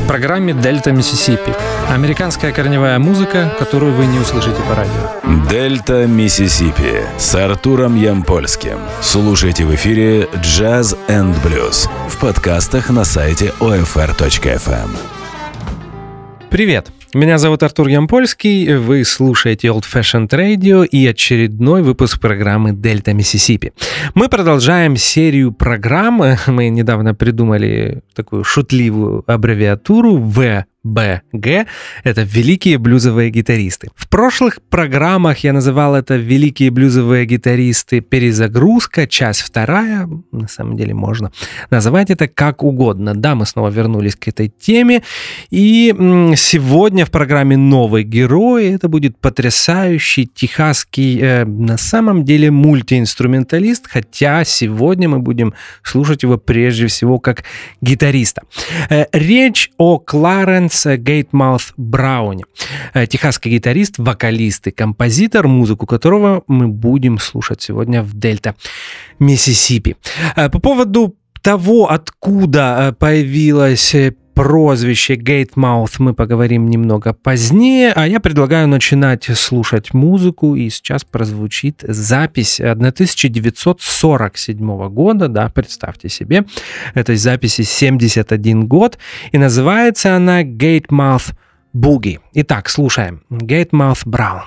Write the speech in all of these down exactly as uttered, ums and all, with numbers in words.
программе «Дельта Миссисипи». Американская корневая музыка, которую вы не услышите по радио. «Дельта Миссисипи» с Артуром Ямпольским. Слушайте в эфире «Джаз энд блюз» в подкастах на сайте о эф эр точка эф эм. Привет! Меня зовут Артур Ямпольский, вы слушаете Old Fashioned Radio и очередной выпуск программы «Дельта Миссисипи». Мы продолжаем серию программ. Мы недавно придумали такую шутливую аббревиатуру вэ бэ гэ – это «Великие блюзовые гитаристы». В прошлых программах я называл это «Великие блюзовые гитаристы. Перезагрузка. Часть вторая». На самом деле можно называть это как угодно. Да, мы снова вернулись к этой теме. И сегодня в программе «Новый герой» это будет потрясающий техасский, э, на самом деле, мультиинструменталист, хотя сегодня мы будем слушать его прежде всего как гитариста. Э, речь о Кларенс Гейтмаут Брауне, техасский гитарист, вокалист и композитор, музыку которого мы будем слушать сегодня в Дельта Миссисипи. По поводу того, откуда появилось прозвище Гейтмаут, мы поговорим немного позднее, а я предлагаю начинать слушать музыку, и сейчас прозвучит запись тысяча девятьсот сорок седьмого года, да, представьте себе, этой записи семьдесят один год, и называется она Гейтмаут Boogie. Итак, слушаем. Гейтмаут Браун.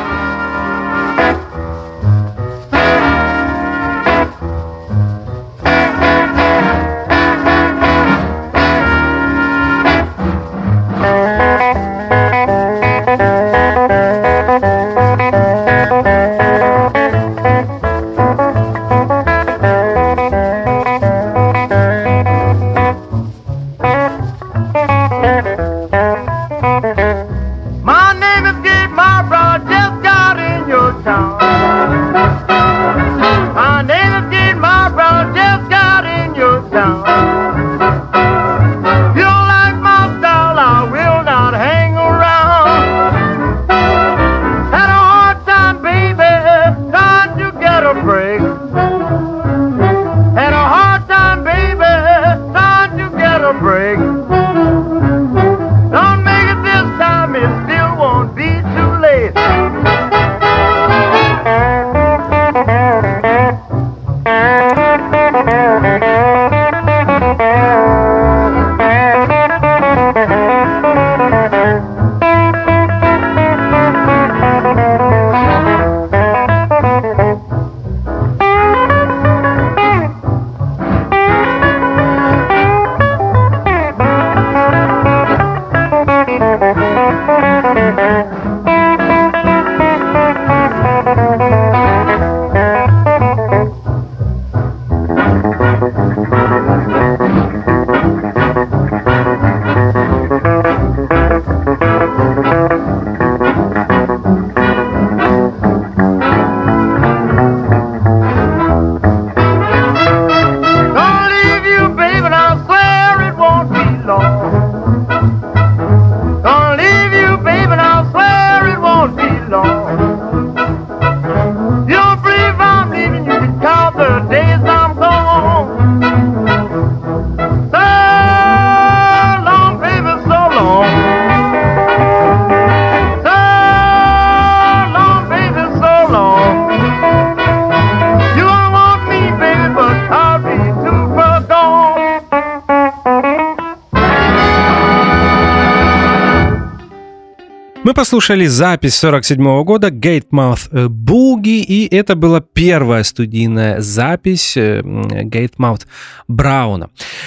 Мы послушали запись сорок седьмого года Гейтмаут Boogie, и это была первая студийная запись Гейтмаут Брауна.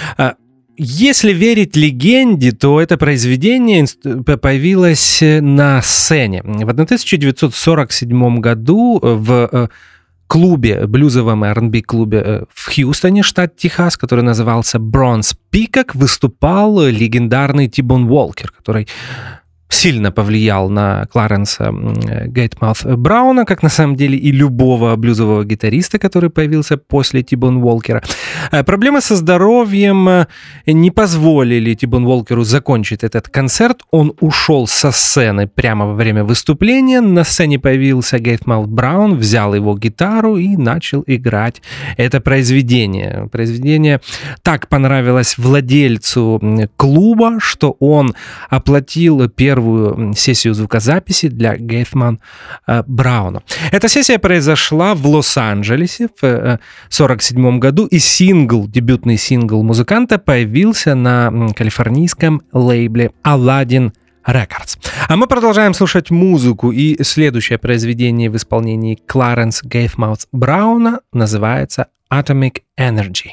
Если верить легенде, то это произведение появилось на сцене. В тысяча девятьсот сорок седьмом году в клубе, блюзовом ар энд би-клубе в Хьюстоне, штат Техас, который назывался Bronze Peacock, выступал легендарный Ти-Бон Уолкер, который сильно повлиял на Кларенса Гейтмаут Брауна, как на самом деле и любого блюзового гитариста, который появился после Ти-Бон Уолкера. Проблемы со здоровьем не позволили Ти-Бон Уолкеру закончить этот концерт. Он ушел со сцены прямо во время выступления. На сцене появился Гейтмаут Браун, взял его гитару и начал играть это произведение. Произведение так понравилось владельцу клуба, что он оплатил первую сессию звукозаписи для Гейтмаут Брауна. Эта сессия произошла в Лос-Анджелесе в сорок седьмом году, и сингл, дебютный сингл музыканта появился на калифорнийском лейбле Aladdin Records. А мы продолжаем слушать музыку, и следующее произведение в исполнении Кларенс Гейтмаут Брауна называется Atomic Energy.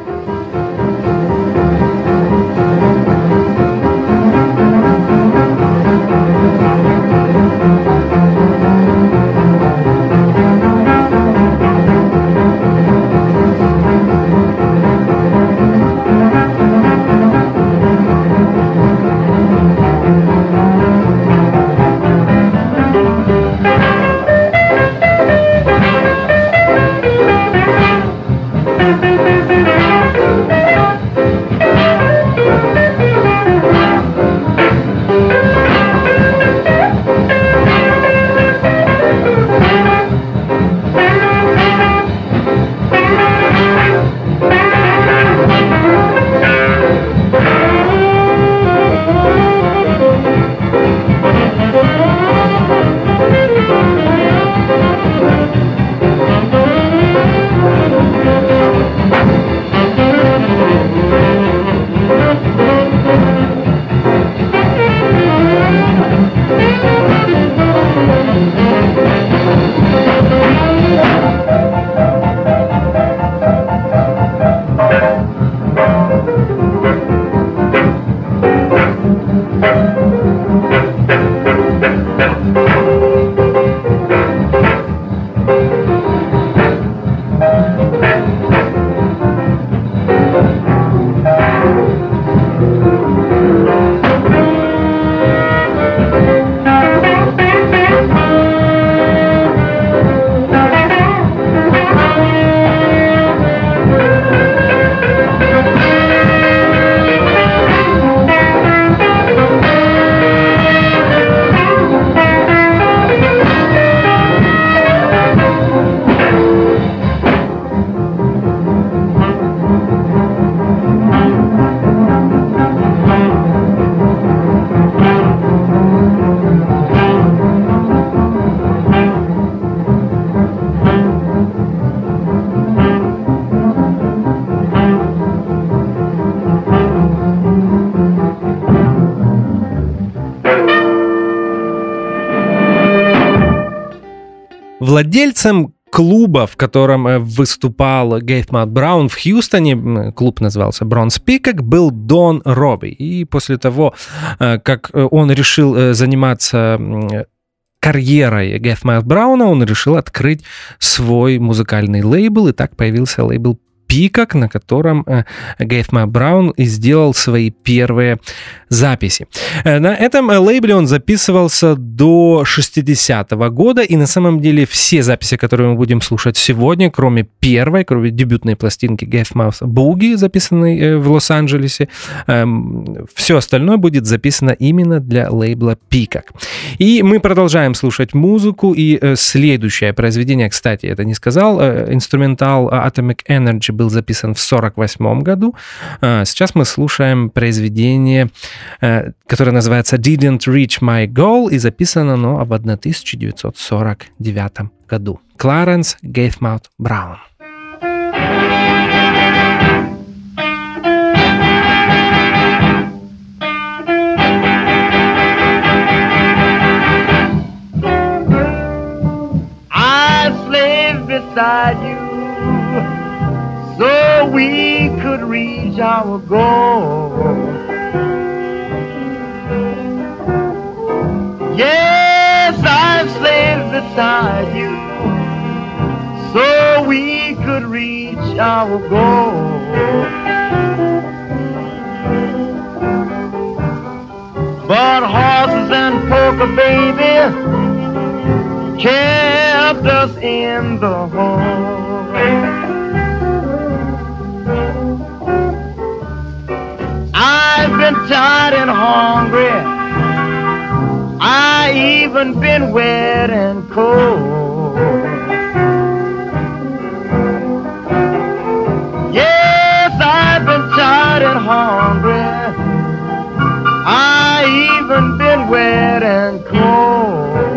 Владельцем клуба, в котором выступал Гейтмаут Браун в Хьюстоне, клуб назывался Bronze Peacock, был Дон Робби. И после того, как он решил заниматься карьерой Гейтмаут Брауна, он решил открыть свой музыкальный лейбл, и так появился лейбл Peacock, на котором Гейтмаут Браун и сделал свои первые записи. На этом лейбле он записывался до шестидесятого года, и на самом деле все записи, которые мы будем слушать сегодня, кроме первой, кроме дебютной пластинки Гейтмаут Boogie, записанной в Лос-Анджелесе, все остальное будет записано именно для лейбла Peacock. И мы продолжаем слушать музыку, и следующее произведение, кстати, это не сказал, инструментал Atomic Energy был записан в сорок восьмом году. Сейчас мы слушаем произведение, которое называется Didn't Reach My Goal, и записано оно в тысяча девятьсот сорок девятом году. Кларенс Гейтмаут Браун. I slaved beside you so we could reach our goal. Yes, I've slaved beside you so we could reach our goal. But horses and walker, baby, kept us in the home. I've been tired and hungry. I even been wet and cold. Yes, I've been tired and hungry. I even been wet and cold.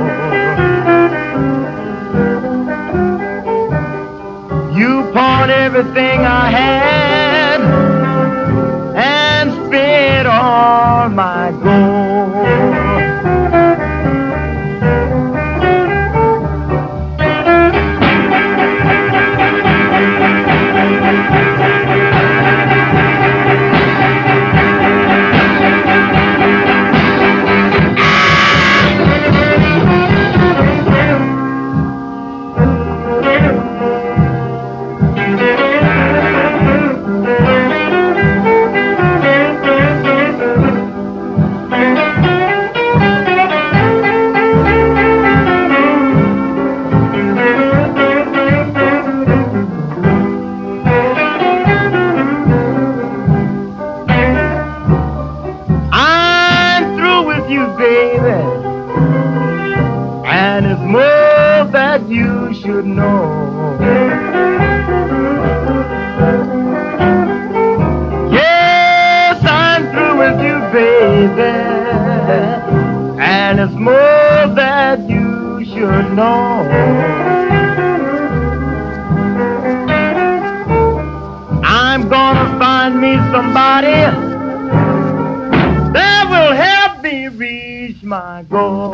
You pawned everything I had and spent all my gold. You should know. Yes, I'm through with you, baby, and it's more that you should know. I'm gonna find me somebody that will help me reach my goal.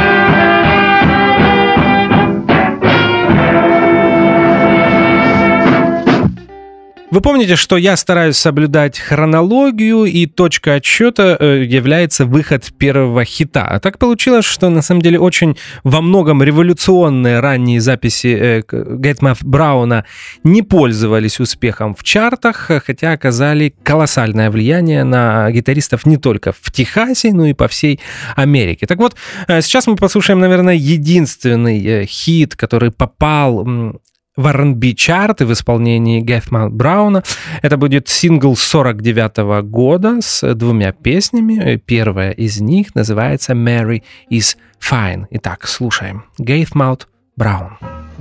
Вы помните, что я стараюсь соблюдать хронологию, и точка отсчета является выход первого хита. А так получилось, что на самом деле очень во многом революционные ранние записи Гэтмаут Брауна не пользовались успехом в чартах, хотя оказали колоссальное влияние на гитаристов не только в Техасе, но и по всей Америке. Так вот, сейчас мы послушаем, наверное, единственный хит, который попал в ар энд би-чарты в исполнении Гэтмаут Брауна. Это будет сингл сорок девятого года с двумя песнями. Первая из них называется «Mary is Fine». Итак, слушаем. Гэтмаут Браун.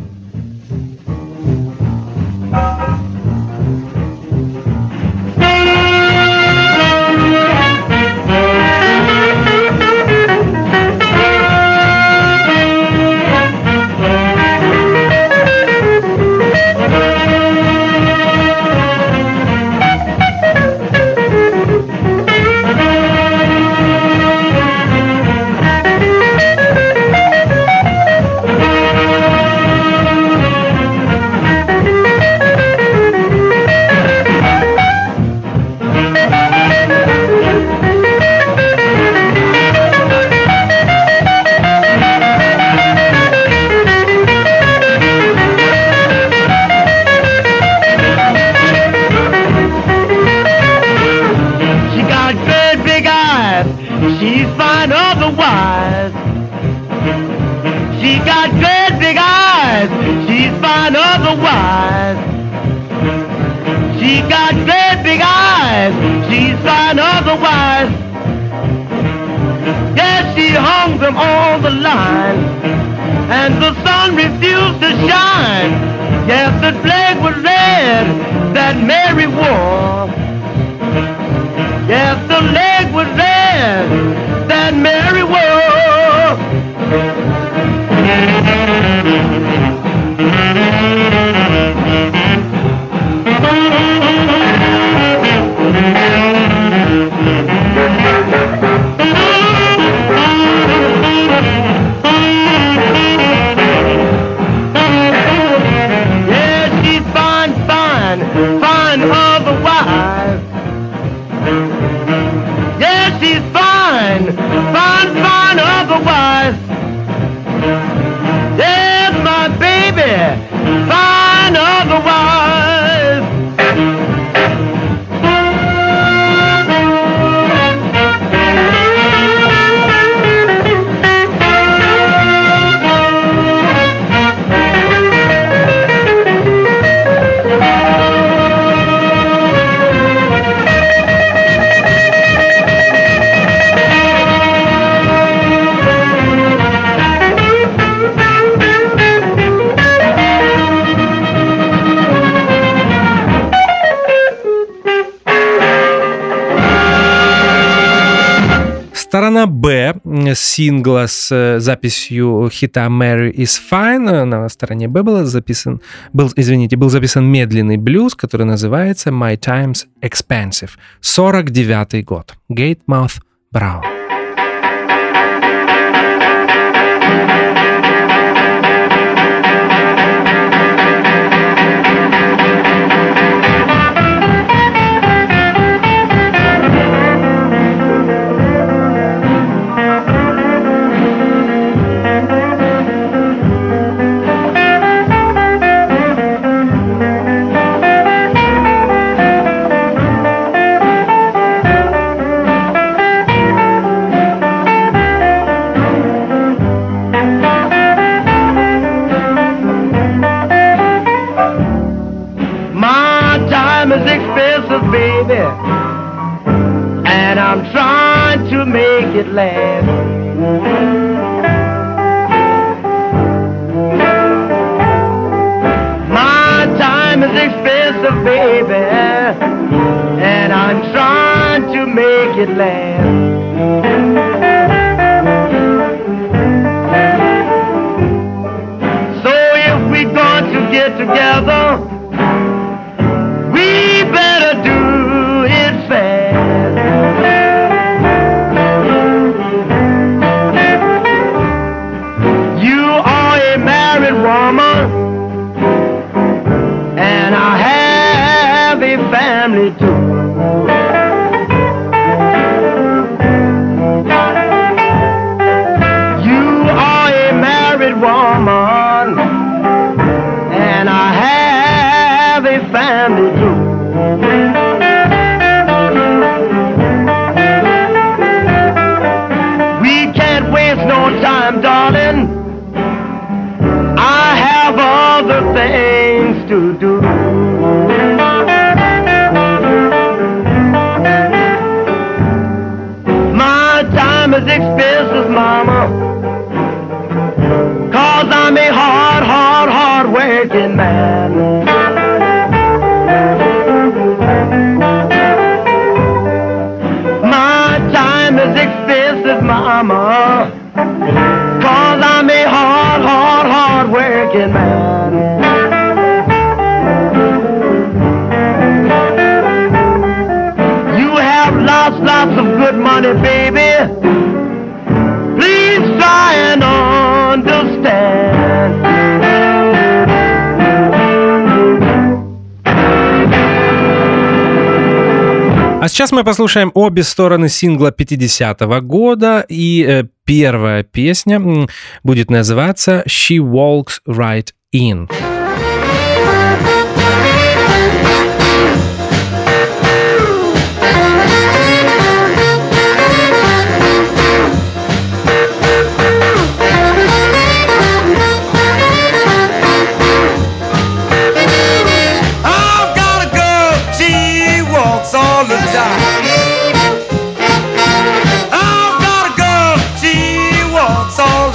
On the line, and the sun refused to shine. Yes, the flag was red that Mary wore. Yes, the flag was red that Mary wore. Сторона Б сингла с записью хита «Mary is Fine». На стороне Б был записан, был, извините, был записан медленный блюз, который называется «My Time's Expensive». сорок девятый год. Gatemouth Brown. Baby, and I'm trying to make it last. My time is expensive, baby, and I'm trying to make it last. So if we're going to get together, we better do it fast. You are a married woman, and I have a family too. You are a married woman, and I have a family too. We can't waste no time, darling. I have other things to do. My time is expensive, mama, 'cause I'm a hard, hard, hard working man. Expensive, mama, 'cause I'm a hard, hard, hard working man. You have lots, lots of good money, baby. Please try and understand. А сейчас мы послушаем обе стороны сингла пятидесятого года, и э, первая песня будет называться «She Walks Right In».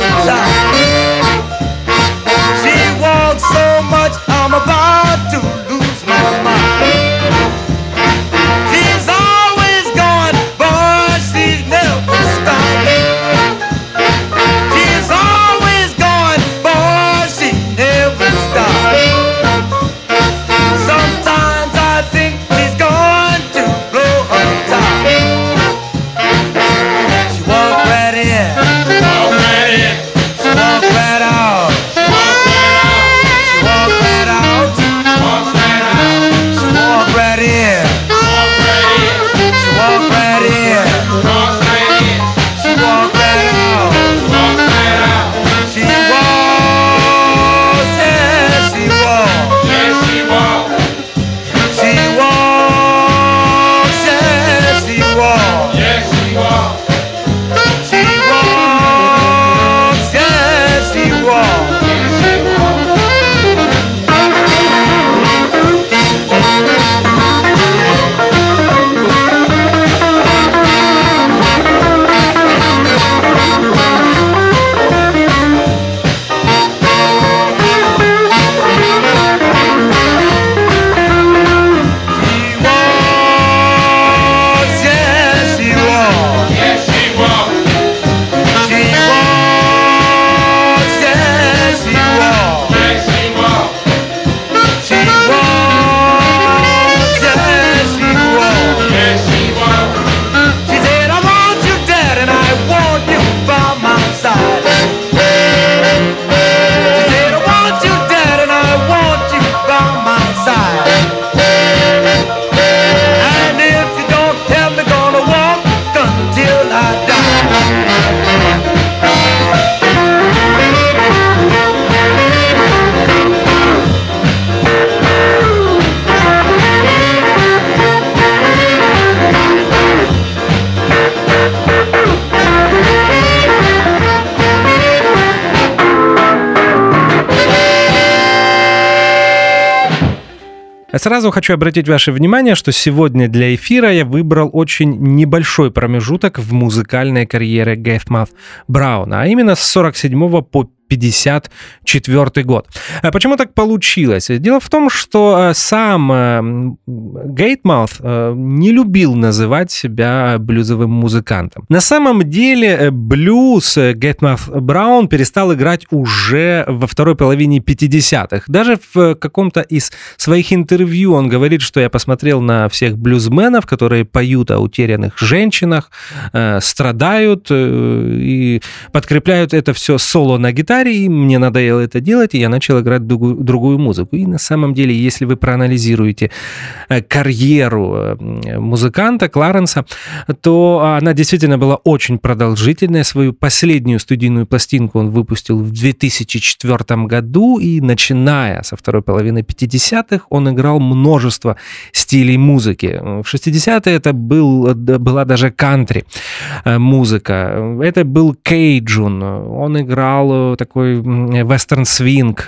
I'm about to lose Сразу хочу обратить ваше внимание, что сегодня для эфира я выбрал очень небольшой промежуток в музыкальной карьере Gatemouth Брауна, а именно с сорок седьмого по пятьдесят четвёртый год. Почему так получилось? Дело в том, что сам Gatemouth не любил называть себя блюзовым музыкантом. На самом деле блюз Gatemouth Браун перестал играть уже во второй половине пятидесятых. Даже в каком-то из своих интервью он говорит, что я посмотрел на всех блюзменов, которые поют о утерянных женщинах, страдают и подкрепляют это все соло на гитаре, и мне надоело это делать, и я начал играть другую, другую музыку. И на самом деле, если вы проанализируете карьеру музыканта Кларенса, то она действительно была очень продолжительная. Свою последнюю студийную пластинку он выпустил в две тысячи четвёртом году, и начиная со второй половины пятидесятых он играл множество стилей музыки. В шестидесятые это был, была даже кантри музыка, это был кейджун, он играл такой вестерн-свинг,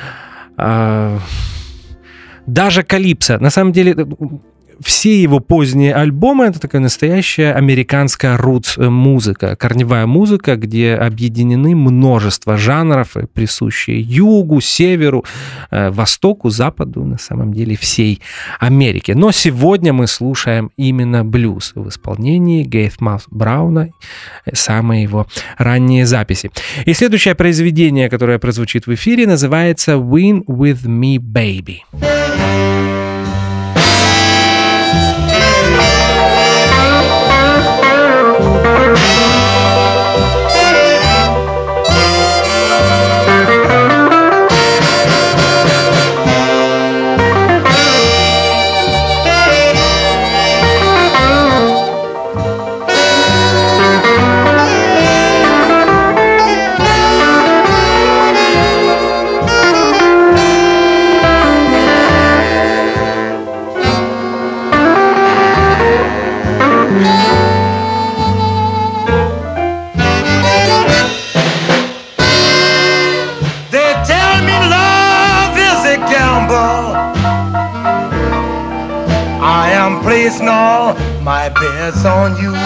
даже калипсо. На самом деле, все его поздние альбомы — это такая настоящая американская рутс-музыка, корневая музыка, где объединены множество жанров, присущие югу, северу, востоку, западу, на самом деле всей Америке. Но сегодня мы слушаем именно блюз в исполнении Gatemouth Брауна, самые его ранние записи. И следующее произведение, которое прозвучит в эфире, называется «Win With Me, Baby». Placing all my bets on you.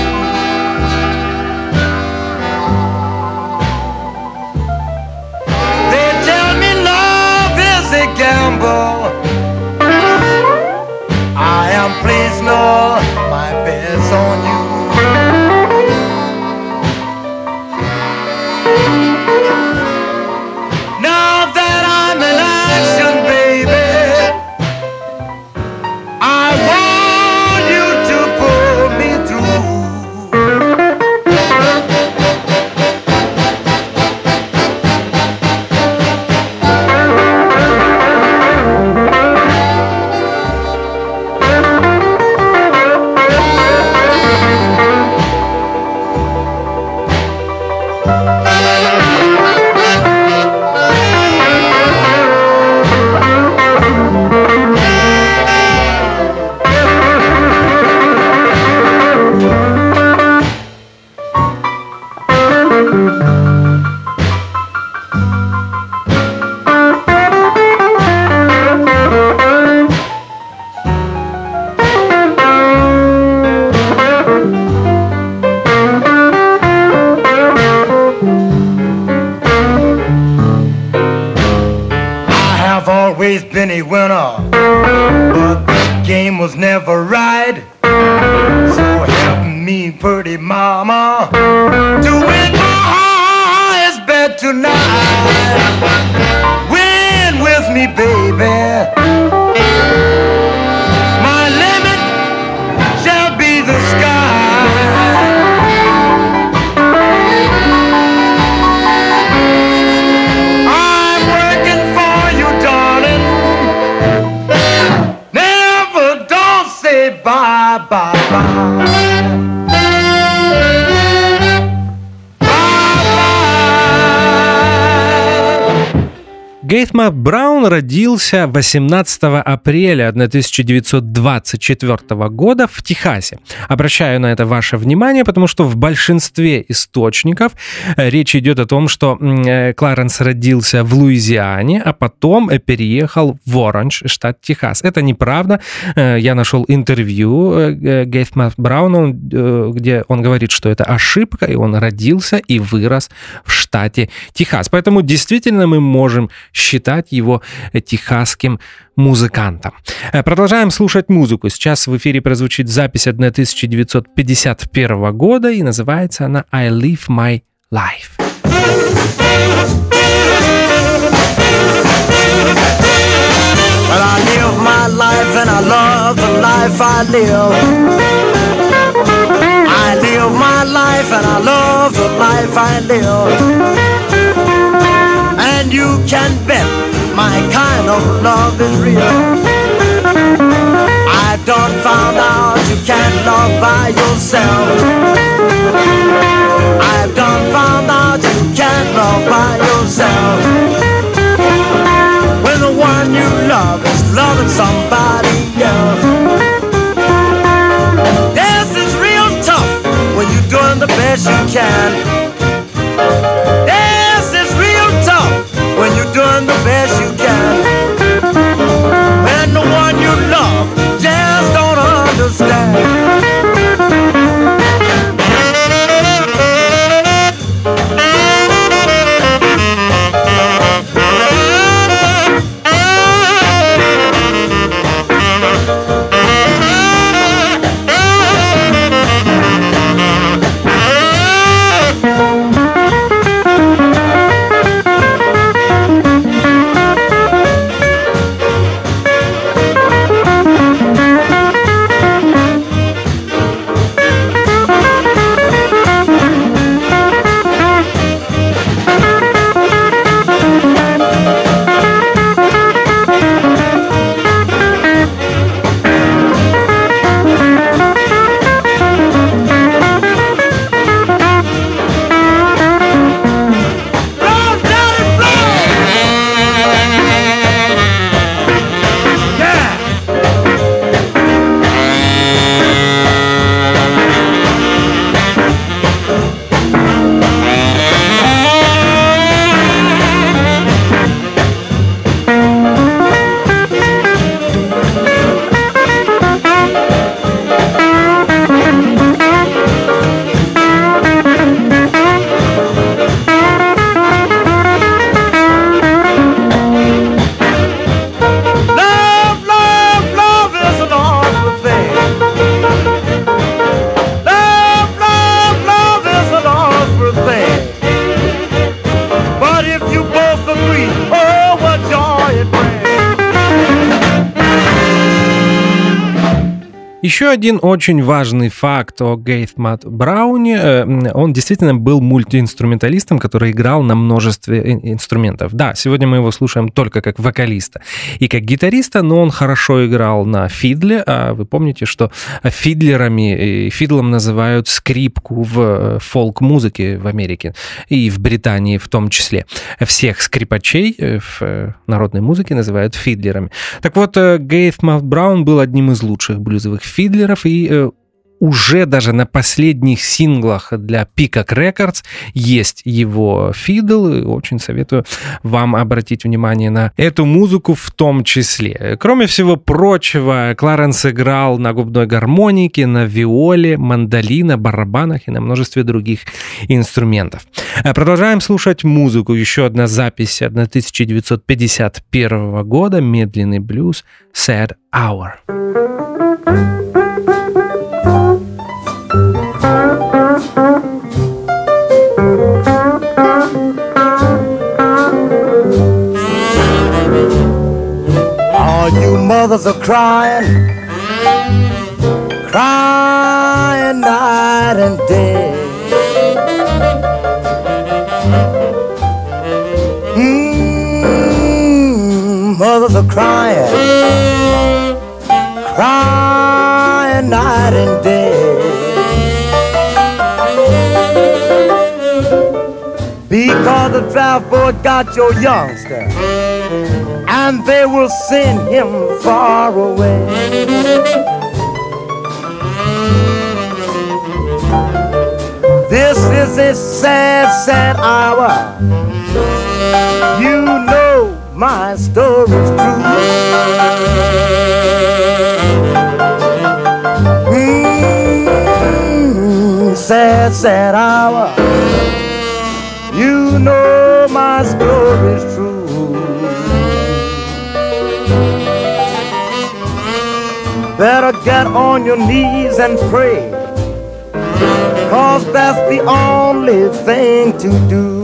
They tell me love is a gamble. I am placing all my bets on you. Now that I'm in action, baby, I want been a winner, but the game was never right. So help me, pretty mama, to win my highest bet tonight. Win with me, baby. My limit shall be the sky. I'm working for you, darling. Never don't say bye, bye, bye. Гейт Мак Браун родился восемнадцатого апреля тысяча девятьсот двадцать четвёртого года в Техасе. Обращаю на это ваше внимание, потому что в большинстве источников речь идет о том, что Кларенс родился в Луизиане, а потом переехал в Оранж, штат Техас. Это неправда. Я нашел интервью Гейт Мак Брауна, где он говорит, что это ошибка, и он родился и вырос в штате Техас. Поэтому действительно мы можем считать его техасским музыкантом. Продолжаем слушать музыку. Сейчас в эфире прозвучит запись тысяча девятьсот пятьдесят первого года, и называется она «I Live My Life». Well, I live my life and I love the life I live. I live my life and I love the life I live. And you can bet my kind of love is real. I done found out you can't love by yourself. I've done found out you can't love by yourself. When the one you love is loving somebody else. This is real tough when you're doing the best you can. This is real tough when you're doing the best you can. When the one you love just don't understand. Еще один очень важный факт о Гейт Мак Брауне. Он действительно был мультиинструменталистом, который играл на множестве инструментов. Да, сегодня мы его слушаем только как вокалиста и как гитариста, но он хорошо играл на фидле. А вы помните, что фидлерами и фидлом называют скрипку в фолк-музыке в Америке и в Британии в том числе. Всех скрипачей в народной музыке называют фидлерами. Так вот, Гейт Мак Браун был одним из лучших блюзовых фидлеров, и э, уже даже на последних синглах для Peacock Records есть его фидл, и очень советую вам обратить внимание на эту музыку в том числе. Кроме всего прочего, Кларенс играл на губной гармонике, на виоле, мандолине, барабанах и на множестве других инструментов. Продолжаем слушать музыку. Еще одна запись тысяча девятьсот пятьдесят первого года, медленный блюз «Sad Hour». All you mothers are crying, crying night and day. Mm, mothers are crying, crying night and day. Because the draft board got your youngster and they will send him far away. This is a sad, sad hour. You know my story's true. Mm, sad, sad hour. You know my story's true. Better get on your knees and pray, 'cause that's the only thing to do.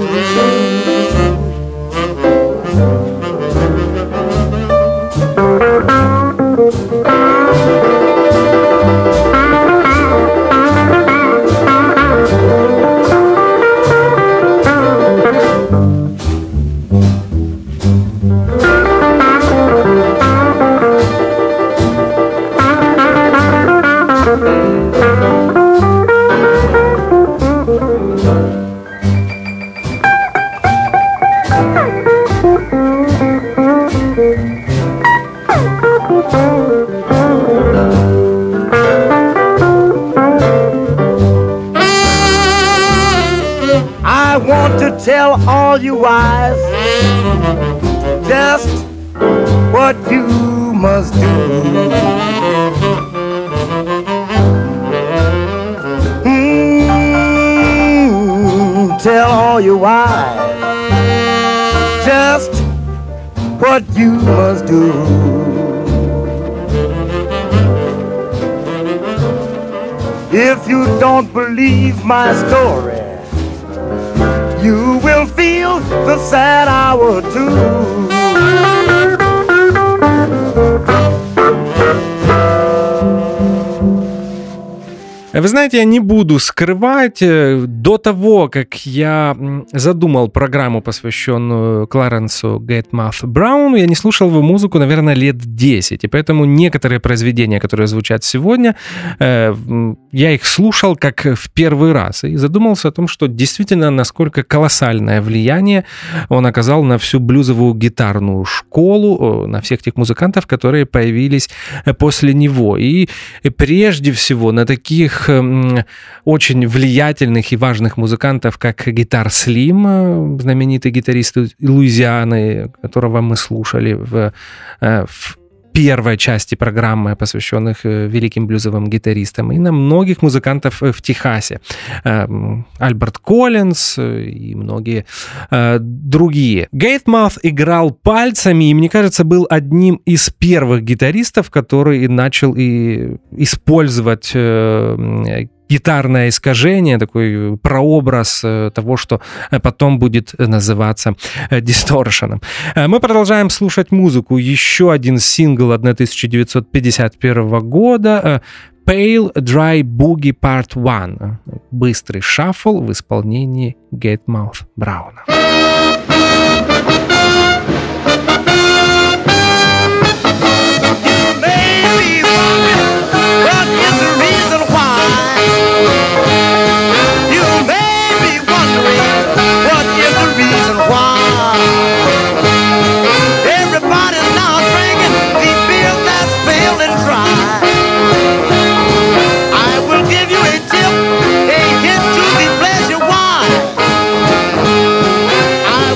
I want to tell all you wives just what you must do. Mm, tell all you wives just what you must do. If you don't believe my story, you will feel the sad hour too. Вы знаете, я не буду скрывать, до того, как я задумал программу, посвященную Кларенсу Гейтмауту Брауну, я не слушал его музыку, наверное, лет десять, и поэтому некоторые произведения, которые звучат сегодня, я их слушал как в первый раз, и задумался о том, что действительно, насколько колоссальное влияние он оказал на всю блюзовую гитарную школу, на всех тех музыкантов, которые появились после него, и прежде всего на таких очень влиятельных и важных музыкантов, как Гитар Слим, знаменитый гитарист Луизианы, которого мы слушали в, в первой части программы, посвященных великим блюзовым гитаристам, и на многих музыкантов в Техасе. Альберт Коллинз и многие другие. Гейтмаут играл пальцами, и, мне кажется, был одним из первых гитаристов, который начал и использовать гитарное искажение, такой прообраз того, что потом будет называться дисторшеном. Мы продолжаем слушать музыку. Еще один сингл тысяча девятьсот пятьдесят первого года Pale Dry Boogie Part один. Быстрый шаффл в исполнении Гейтмаута Брауна. I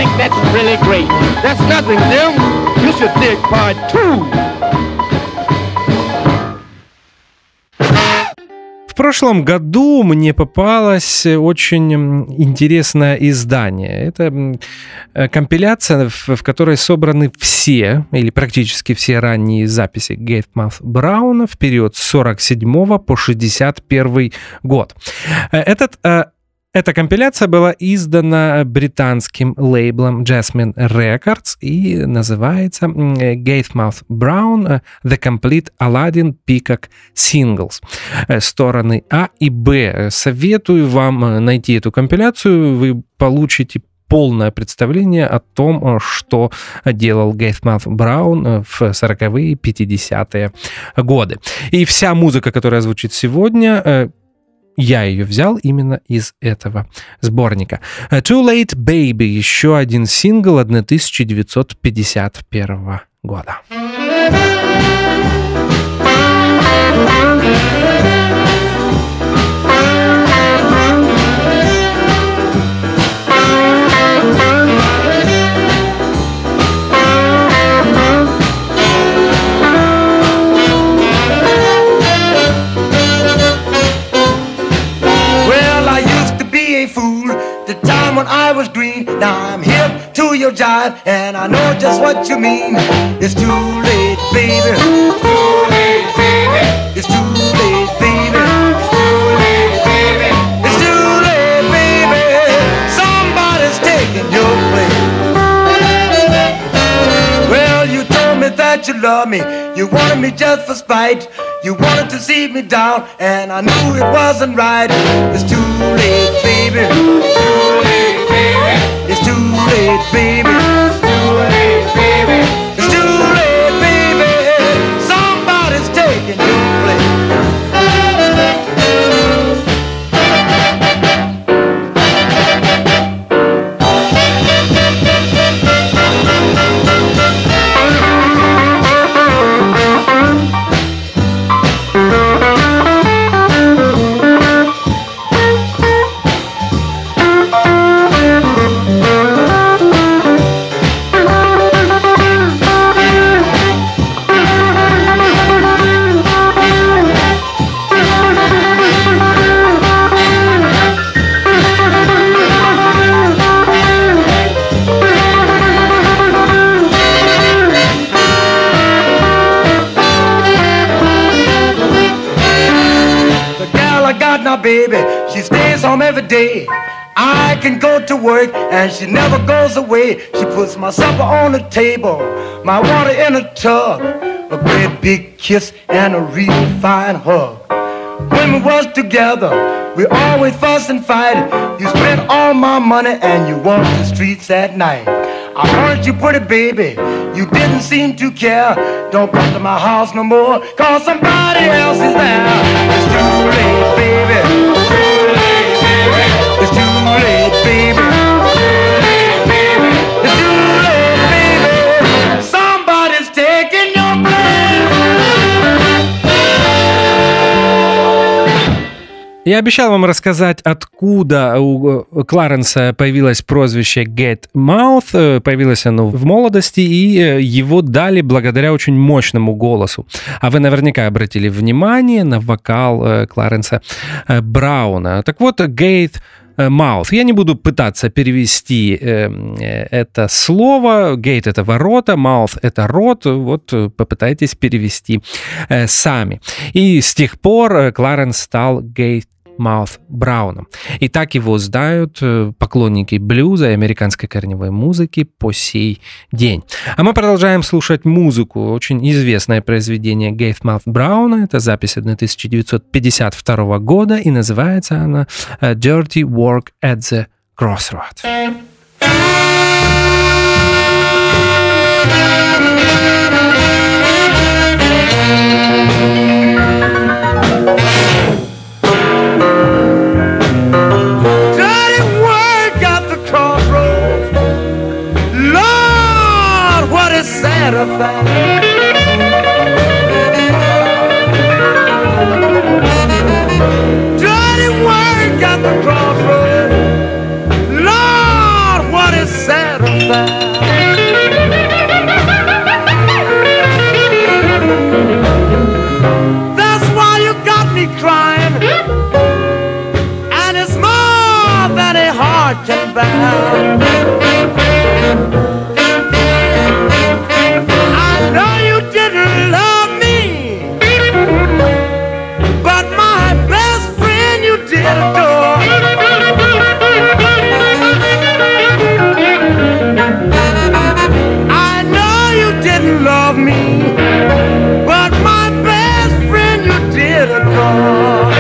think that's really great. That's nothing, Jim. You should dig part two. В прошлом году мне попалось очень интересное издание. Это компиляция, в которой собраны все, или практически все ранние записи Гейтмаут Брауна в период с сорок седьмого по шестьдесят первый год. Этот Эта компиляция была издана британским лейблом Jasmine Records и называется Гейтмаут Brown The Complete Aladdin Peacock Singles. Стороны А и Б. Советую вам найти эту компиляцию, вы получите полное представление о том, что делал Гейтмаут Браун в сороковые, пятидесятые годы. И вся музыка, которая звучит сегодня, я ее взял именно из этого сборника. Too Late Baby, еще один сингл тысяча девятьсот пятьдесят первого года. When I was green, now I'm hip to your jive, and I know just what you mean. It's too late, baby. It's too late, baby. It's too late, baby. It's too late, baby. It's too late, baby. Somebody's taking your place. Well, you told me that you love me. You wanted me just for spite. You wanted to see me down, and I knew it wasn't right. It's too late, baby. It's too late, baby. It's too late, baby. It's too late, baby. Somebody's taking your place. Baby, she stays home every day. I can go to work and she never goes away. She puts my supper on the table, my water in a tub, a great big kiss and a real fine hug. When we was together, we always fuss and fight. You spent all my money and you walked the streets at night. I heard you pretty baby, you didn't seem to care. Don't come to my house no more, cause somebody else is there. It's too late, baby. It's too late, baby. It's too late, baby. It's too late, baby. Somebody's taking your place. Я обещал вам рассказать, откуда у Кларенса появилось прозвище Гейтмаут. Появилось оно в молодости, и его дали благодаря очень мощному голосу. А вы наверняка обратили внимание на вокал Кларенса Брауна. Так вот, Гейтмаут. Я не буду пытаться перевести это слово. Гейт — это ворота, маут — это рот. Вот попытайтесь перевести сами. И с тех пор Кларенс стал Гейт Гейтмаут Брауном. И так его знают поклонники блюза и американской корневой музыки по сей день. А мы продолжаем слушать музыку. Очень известное произведение Гейтмаут Брауна. Это запись тысяча девятьсот пятьдесят второго года, и называется она «Dirty Work at the Crossroads». Dirty work at the crossroads. Lord, what is sad satisfied. I know you didn't love me, but my best friend you did adore. I know you didn't love me, but my best friend you did adore.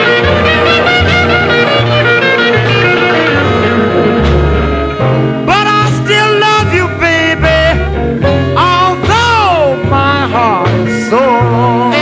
But I still love you, baby, although my heart is sore.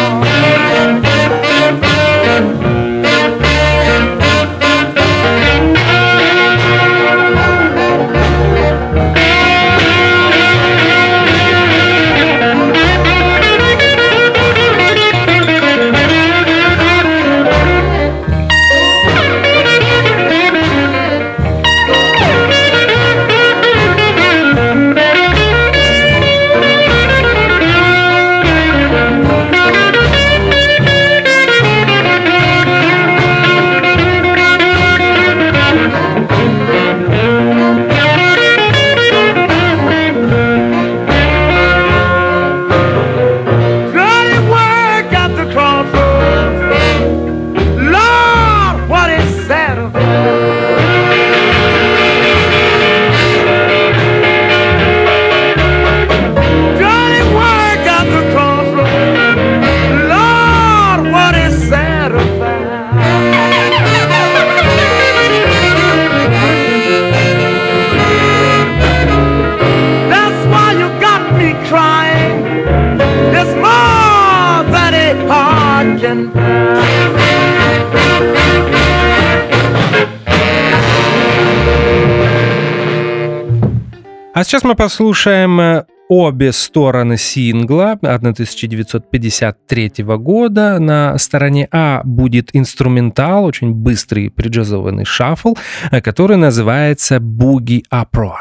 А сейчас мы послушаем обе стороны сингла тысяча девятьсот пятьдесят третьего года. На стороне А будет инструментал, очень быстрый преджазованный шаффл, который называется «Boogie Uproar».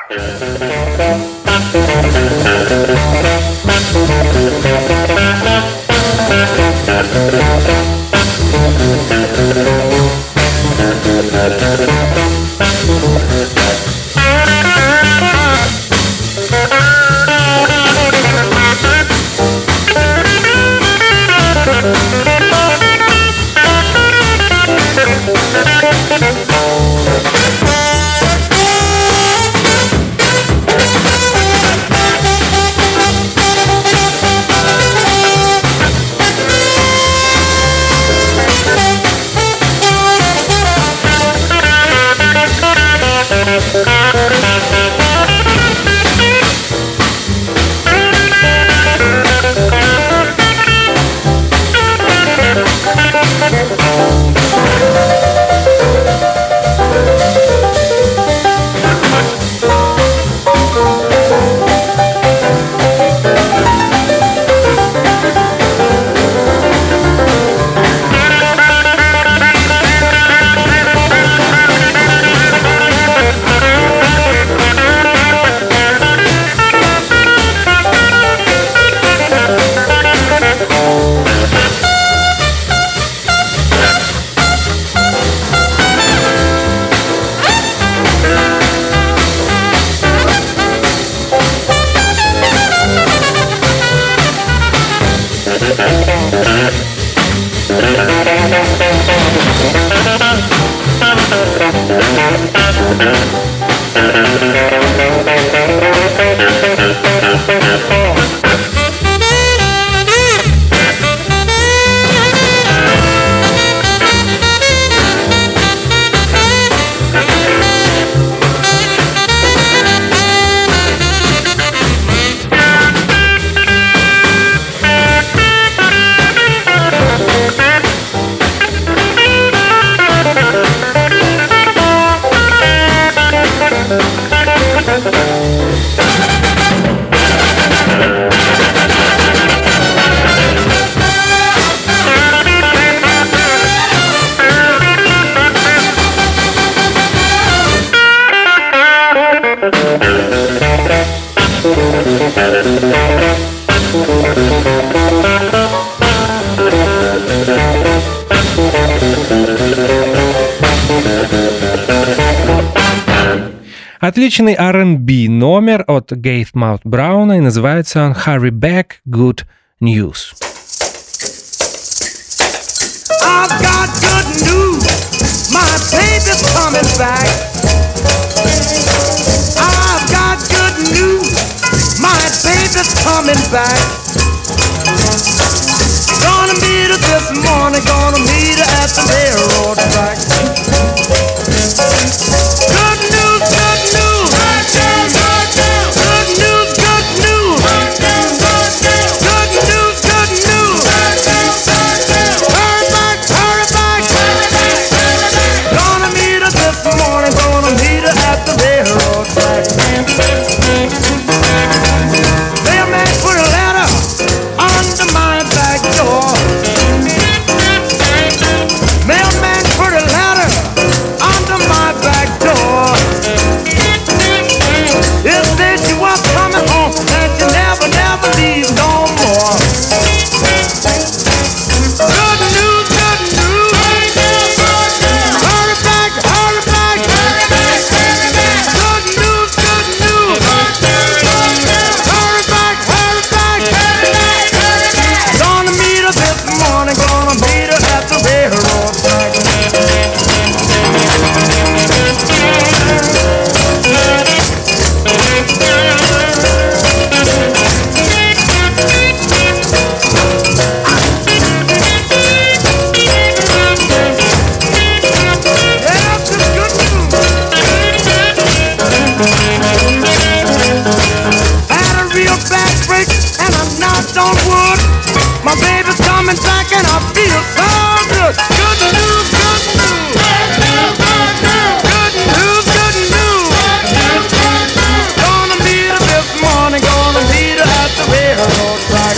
Отличный ар энд би номер от Gatemouth Brown, и называется он «Hurry Back, Good News». I've got good news, my baby's coming back. I've got good news, my baby's coming back. Gonna meet her this morning, gonna meet her at the railroad track. Good news, good news, good news, good news, good news, good news. Hurry back, hurry back. Gonna meet her this morning, gonna meet her at the railroad track. Mailman put a letter under my back door. Mailman put a letter under my back door. It said she was coming home and she never, never leaves no more. Good news, good news. Hurry back, hurry back. Good news, good news. Hurry back, hurry back. Gonna meet her this morning, gonna meet her at the railroad track. Yeah, this is good news. Had a real bad break and I knocked on wood. My baby's coming back and I feel so good. Good news, good news. Good news, good news. Gonna meet her this morning, gonna meet her at the railroad track.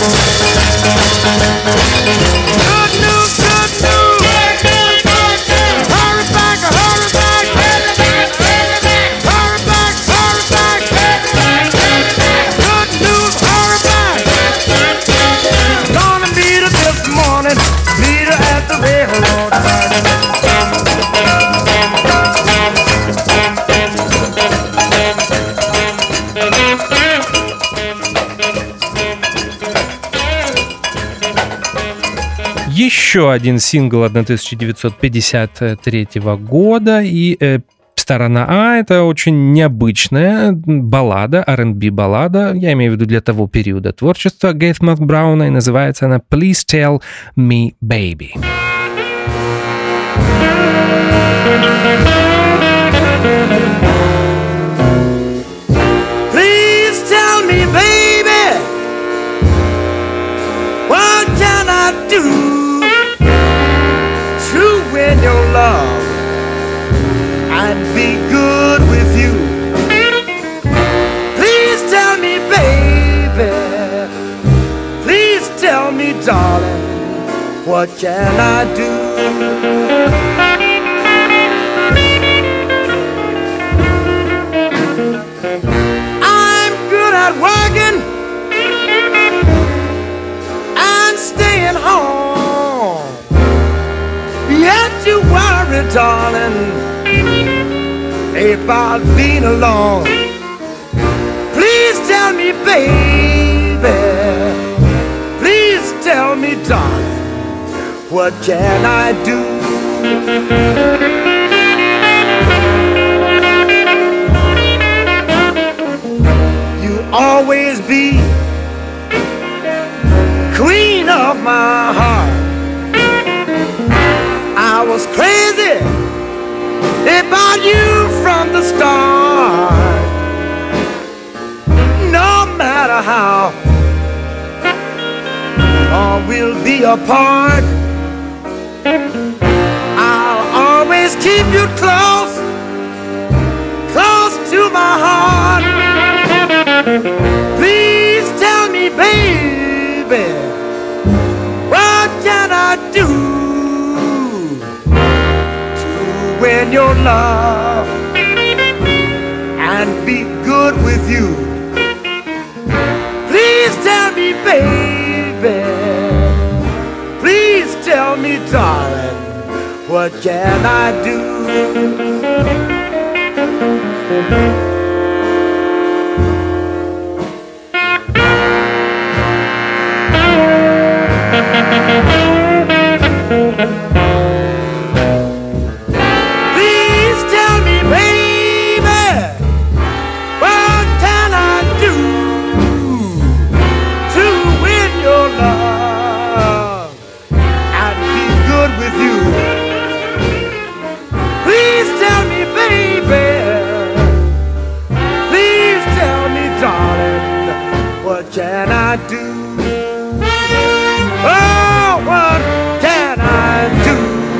Good news, good news. Hurry back, hurry back. Hurry back, hurry back. Good news, hurry back. Gonna meet her this morning, meet her at the railroad track. Еще один сингл тысяча девятьсот пятьдесят третьего года, и э, сторона А — это очень необычная баллада, ар энд би баллада, я имею в виду для того периода творчества Gatemouth Brown, и называется она «Please Tell Me Baby». Please tell me, baby, what can I do to win your love and be good with you? Please tell me, baby, please tell me, darling, what can I do? I'm good at working and staying home. Yet you worry, darling, about being alone. Please tell me, baby, please tell me, darling, what can I do? Always be queen of my heart. I was crazy about you from the start. No matter how long we'll be apart, I'll always keep you close, close to my heart. Please tell me, baby, what can I do to win your love and be good with you? Please tell me, baby, please tell me, darling, what can I do? Can I do? Oh, what can I do?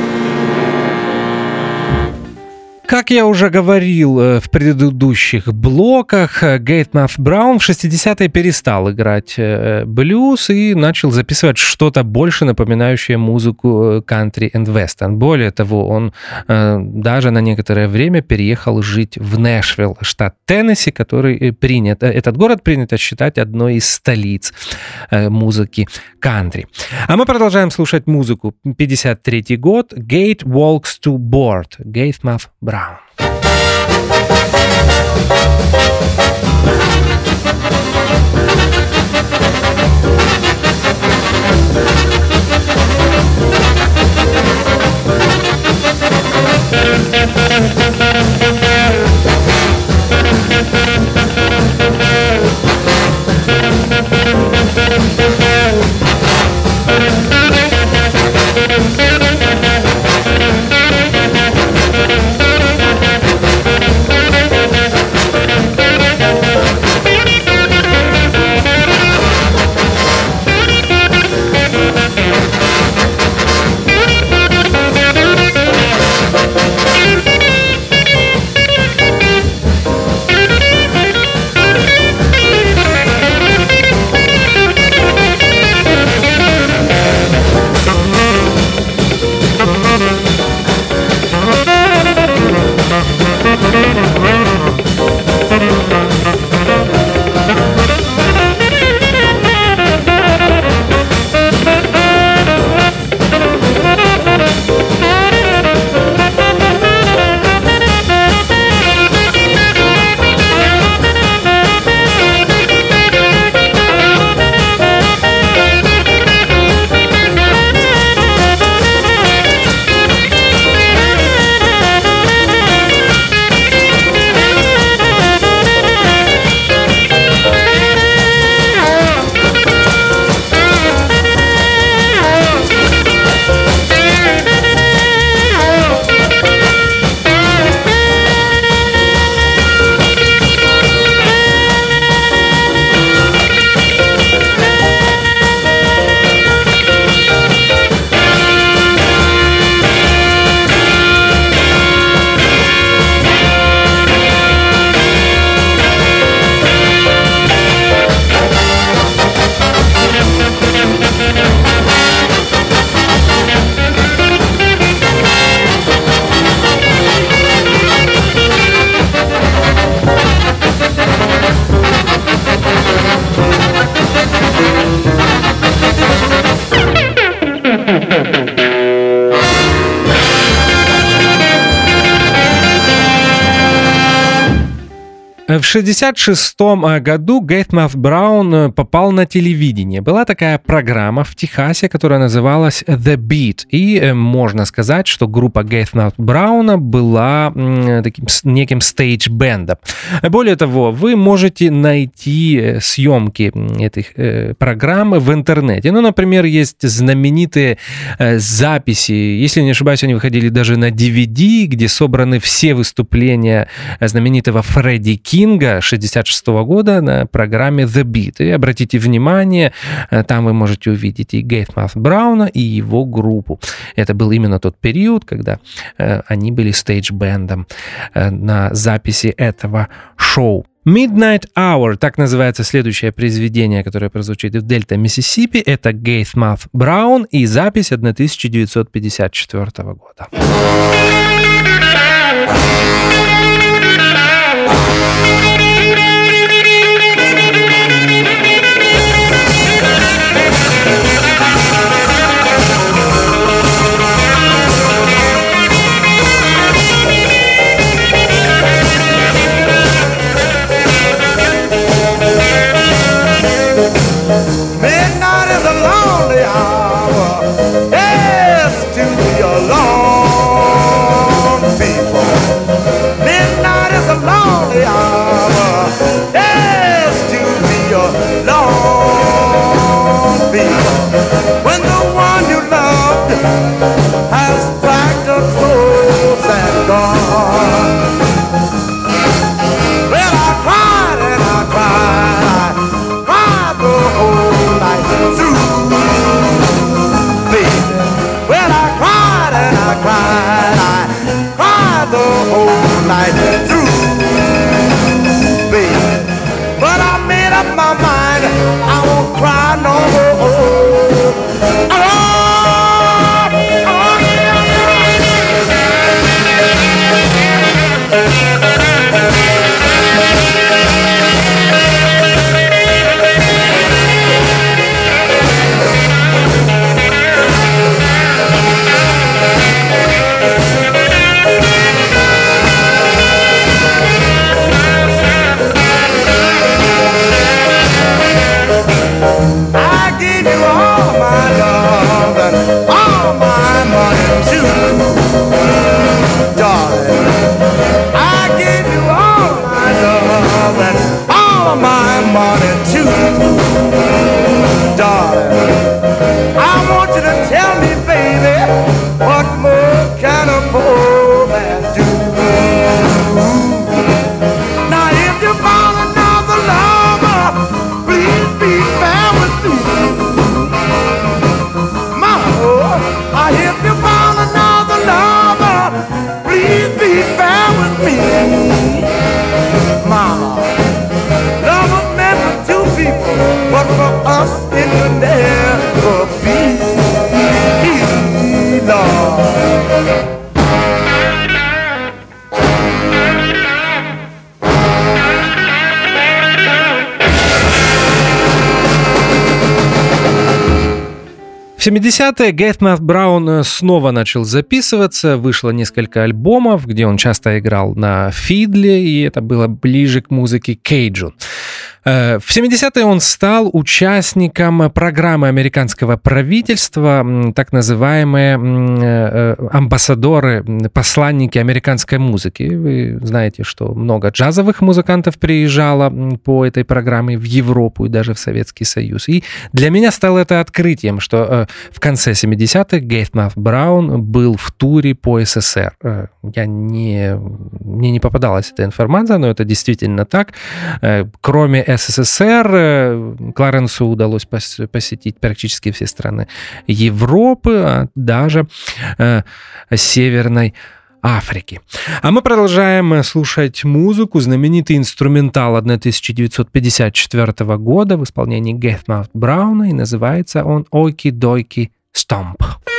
Как я уже говорил в предыдущих блоках, Гейтмаут Браун в шестидесятые перестал играть блюз и начал записывать что-то больше напоминающее музыку кантри и вестерн. Более того, он даже на некоторое время переехал жить в Нэшвилл, штат Теннесси, который принят, этот город принято считать одной из столиц музыки кантри. А мы продолжаем слушать музыку. пятьдесят третий год. Gate Walks to Board. Гейтмаут Браун. В шестьдесят шестом году Гейтмаут Браун попал на телевидение. Была такая программа в Техасе, которая называлась The Beat. И можно сказать, что группа Гейтмаут Брауна была таким неким стейдж-бэндом. Более того, вы можете найти съемки этих программ в интернете. Ну, например, есть знаменитые записи. Если не ошибаюсь, они выходили даже на ди ви ди, где собраны все выступления знаменитого Фредди Кинга шестьдесят шестого года на программе The Beat. И обратите внимание, там вы можете увидеть и Гейтмаут Брауна, и его группу. Это был именно тот период, когда э, они были стейдж-бэндом э, на записи этого шоу. Midnight Hour, так называется следующее произведение, которое прозвучит в Дельта, Миссисипи. Это Гейтмаут Браун и запись тысяча девятьсот пятьдесят четвёртого года. Midnight is a lonely hour, yes, to you to tell me, baby, what more can a poor man do? Now if you found another lover, please be fair with me. Mama, if you found another lover, please be fair with me. Mama, love was meant for two people, but for us it could never be. Lord. В семидесятые Гэйтмаут Браун снова начал записываться, вышло несколько альбомов, где он часто играл на фидле, и это было ближе к музыке кейджун. В семидесятые он стал участником программы американского правительства, так называемые амбассадоры, посланники американской музыки. Вы знаете, что много джазовых музыкантов приезжало по этой программе в Европу и даже в Советский Союз. И для меня стало это открытием, что в конце семидесятых Гэйтмаут Браун был в туре по СССР. Я не, мне не попадалась эта информация, но это действительно так. Кроме СССР, Кларенсу удалось посетить практически все страны Европы, а даже э, Северной Африки. А мы продолжаем слушать музыку. Знаменитый инструментал тысяча девятьсот пятьдесят четвёртого года в исполнении Гэйтмаут Брауна, и называется он «Okie-dokie Stomp».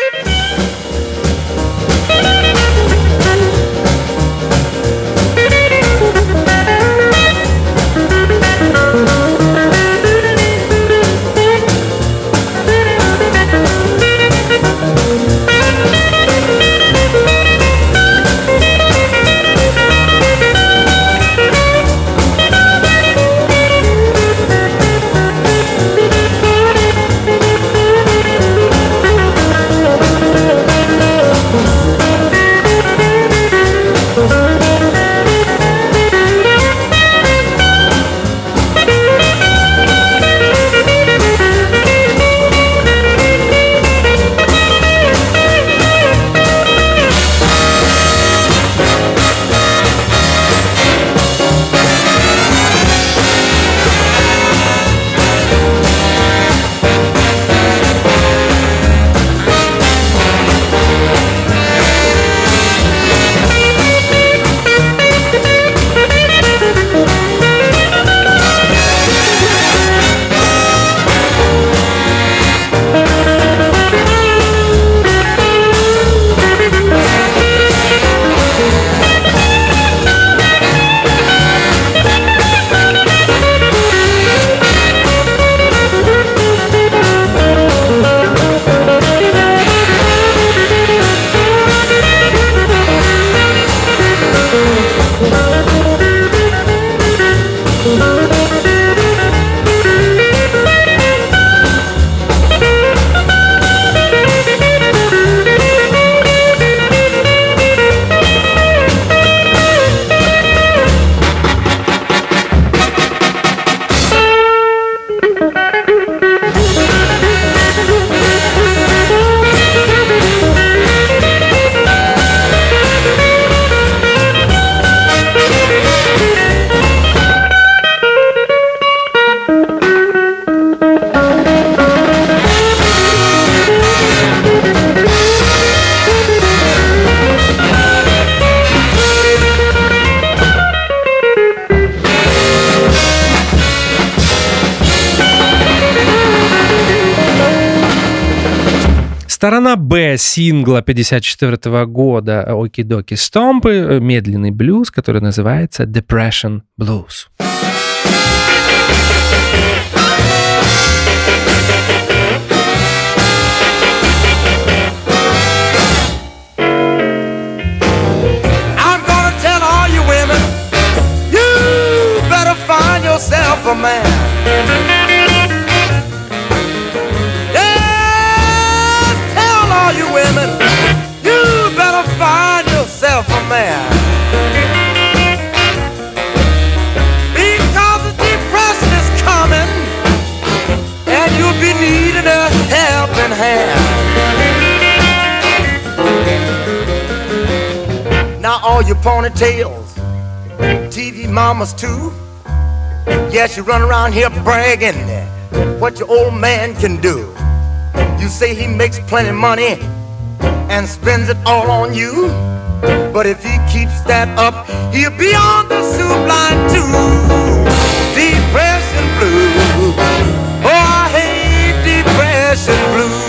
Сторона Б сингла пятьдесят четвёртого года «Okie-dokie Stomp» — медленный блюз, который называется «Depression Blues». I'm gonna tell all you women, you better find yourself a man. You women, you better find yourself a man, because the depression is coming and you'll be needing a helping hand. your ponytails, T V mamas too. Yes, you run around here bragging what your old man can do. You say he makes plenty money and spends it all on you, but if he keeps that up, he'll be on the soup line too. Depression blues, oh I hate depression blues.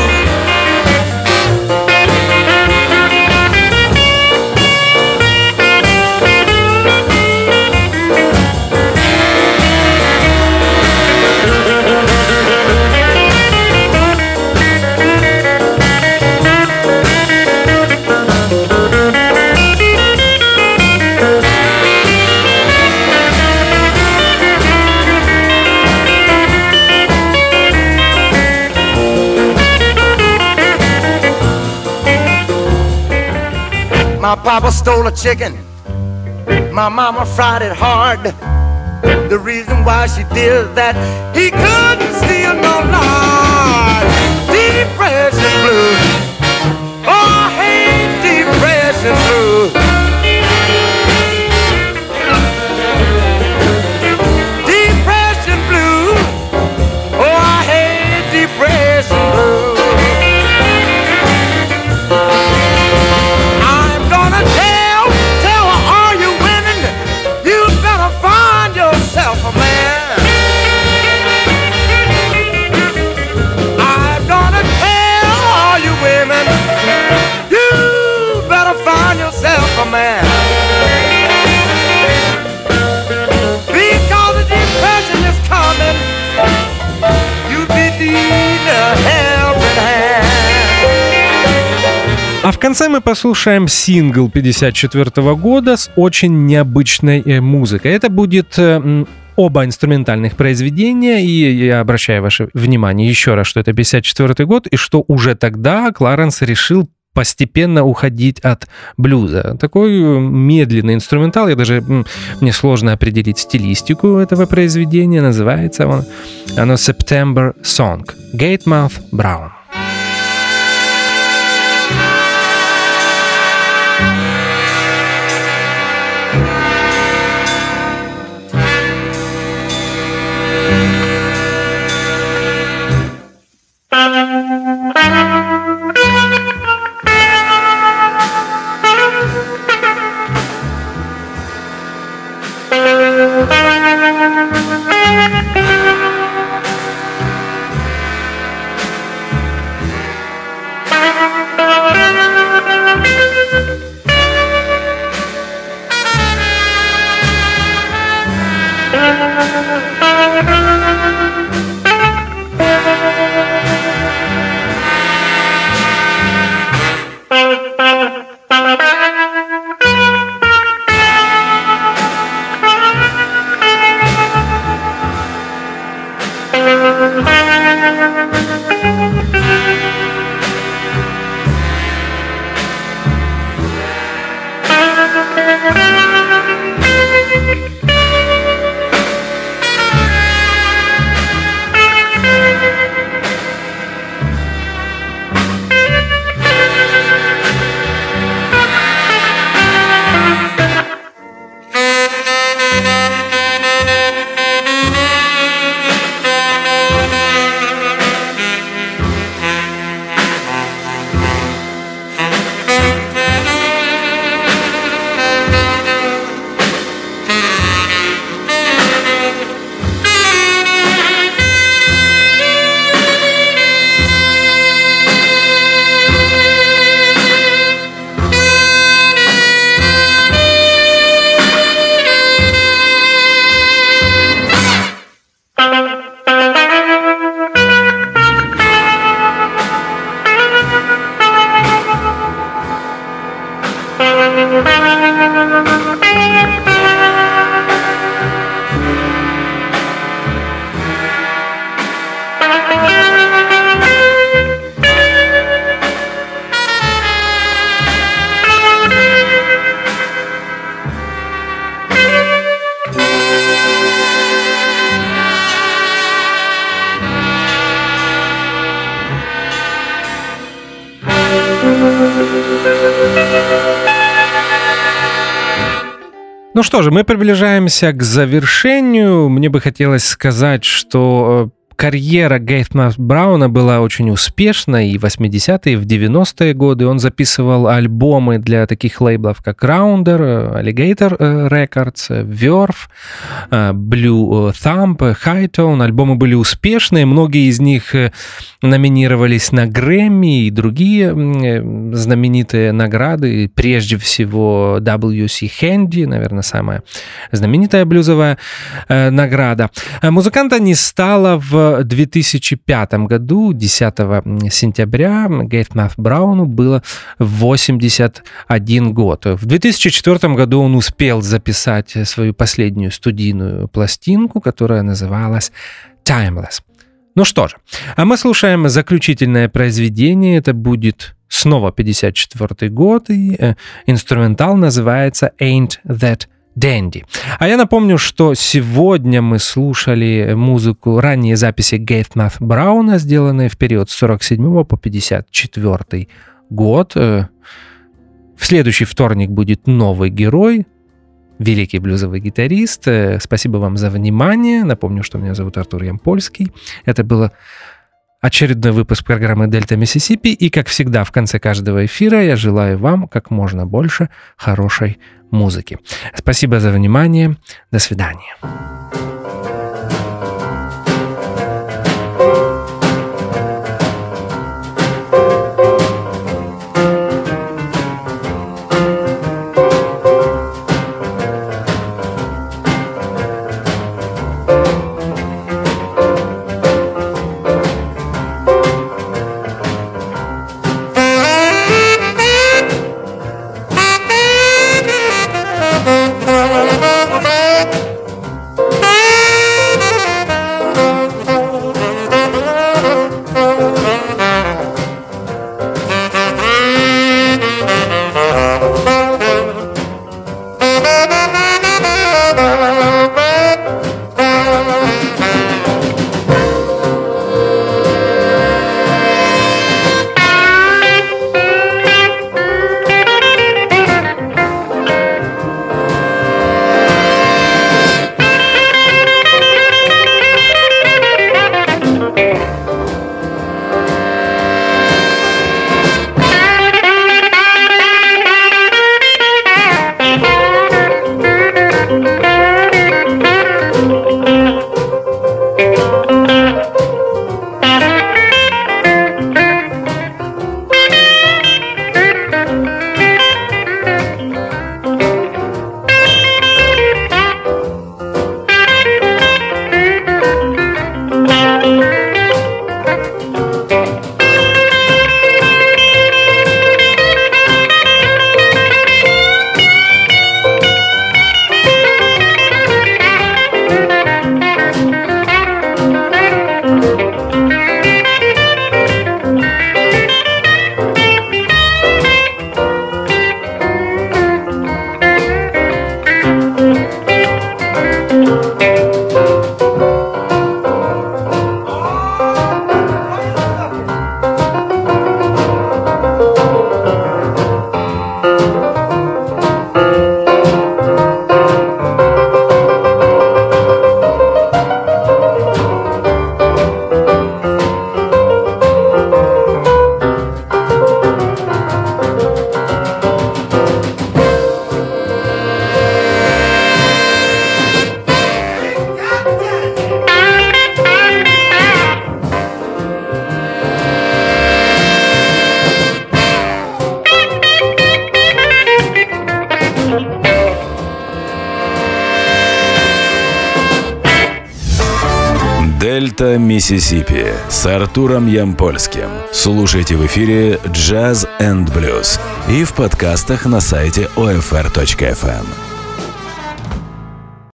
My papa stole a chicken, my mama fried it hard. The reason why she did that, he couldn't steal no lard. Depression blues, oh I hate depression blues. Depression blues, oh I hate depression blues. Man. Because the depression is coming, you be needing a helping hand. А в конце мы послушаем сингл пятьдесят четвёртого года с очень необычной музыкой. Это будет оба инструментальных произведения, и я обращаю ваше внимание еще раз, что это пятьдесят четвёртый год, и что уже тогда Кларенс решил постепенно уходить от блюза. Такой медленный инструментал, я даже, мне сложно определить стилистику этого произведения, называется он, оно September Song, Gatemouth Brown. Ну что же, мы приближаемся к завершению. Мне бы хотелось сказать, что карьера Гейта Брауна была очень успешной и в восьмидесятые, и в девяностые годы. Он записывал альбомы для таких лейблов, как Rounder, Alligator Records, Verve, Blue Thumb, Hightone. Альбомы были успешные, многие из них номинировались на Грэмми и другие знаменитые награды. Прежде всего дабл ю си Handy, наверное, самая знаменитая блюзовая награда. Музыканта не стало в В две тысячи пятом году, десятого сентября, Гейту Брауну было восемьдесят один год. В две тысячи четвёртом году он успел записать свою последнюю студийную пластинку, которая называлась «Timeless». Ну что же, а мы слушаем заключительное произведение. Это будет снова пятьдесят четвёртый год, и э, инструментал называется «Ain't That Dandy». А я напомню, что сегодня мы слушали музыку, ранние записи Гейта Брауна, сделанные в период с сорок седьмого по пятьдесят четвёртый год. В следующий вторник будет новый герой, великий блюзовый гитарист. Спасибо вам за внимание. Напомню, что меня зовут Артур Ямпольский. Это было очередной выпуск программы «Дельта Миссисипи». И, как всегда, в конце каждого эфира я желаю вам как можно больше хорошей музыки. Спасибо за внимание. До свидания. Дельта Миссисипи с Артуром Ямпольским. Слушайте в эфире Jazz энд Blues и в подкастах на сайте о эф эр точка эф эм.